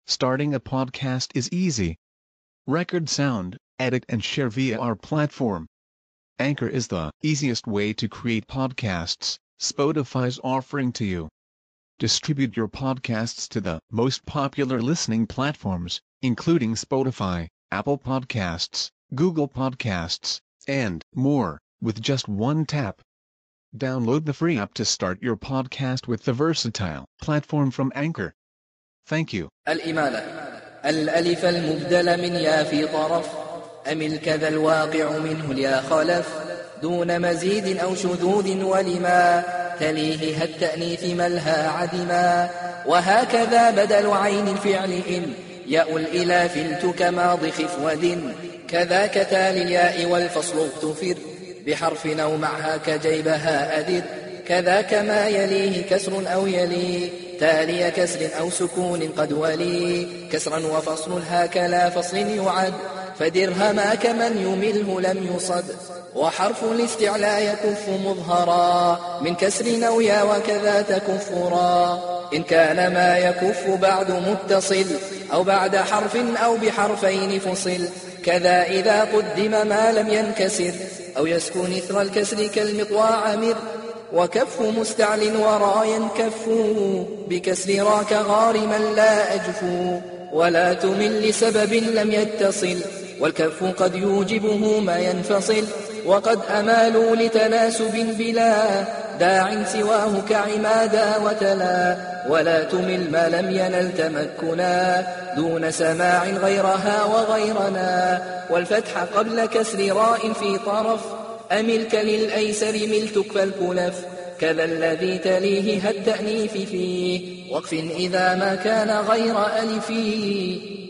Starting a podcast is easy. Record sound, edit and share via our platform. Anchor is the easiest way to create podcasts Spotify's offering to you. Distribute your podcasts to the most popular listening platforms, including Spotify, Apple Podcasts, Google Podcasts, and more, with just one tap. Download the free app to start your podcast with the versatile platform from Anchor. Thank you. الإمالة الألف المبدل من يا في طرف أمل كذا الواقع منه اليا خلف دون مزيد أو شذوذ ولما تليه التأنيث ملها عدما وهكذا بدل عين الفعل إن ياء الإلاف الت كماض خفوذ كذاك تالي الياء والفصل اغتفر بحرف أو معها كجيبها أدر كذاك ما يليه كسر أو يلي تالي كسر أو سكون قد ولي كسرا وفصل هكلا فصل يعد فدرهما كمن يمله لم يصد وحرف الاستعلاء يكف مظهرا من كسر أو يا وكذا تكفرا إن كان ما يكف بعد متصل أو بعد حرف أو بحرفين فصل كذا إذا قدم ما لم ينكسر أو يسكن إثر الكسر كالمطواع مر وكف مستعل ورا ينكف بكسر راك غارما لا أجفو ولا تمل لسبب لم يتصل والكف قد يوجبه ما ينفصل وقد أمالوا لتناسب بلا داع سواه كعمادا وتلا ولا تمل ما لم ينل تمكنا دون سماع غيرها وغيرنا والفتح قبل كسر راء في طرف أملك للأيسر ملتك فالكلف كذا الذي تليه التأنيث فيه وقف إذا ما كان غير ألفي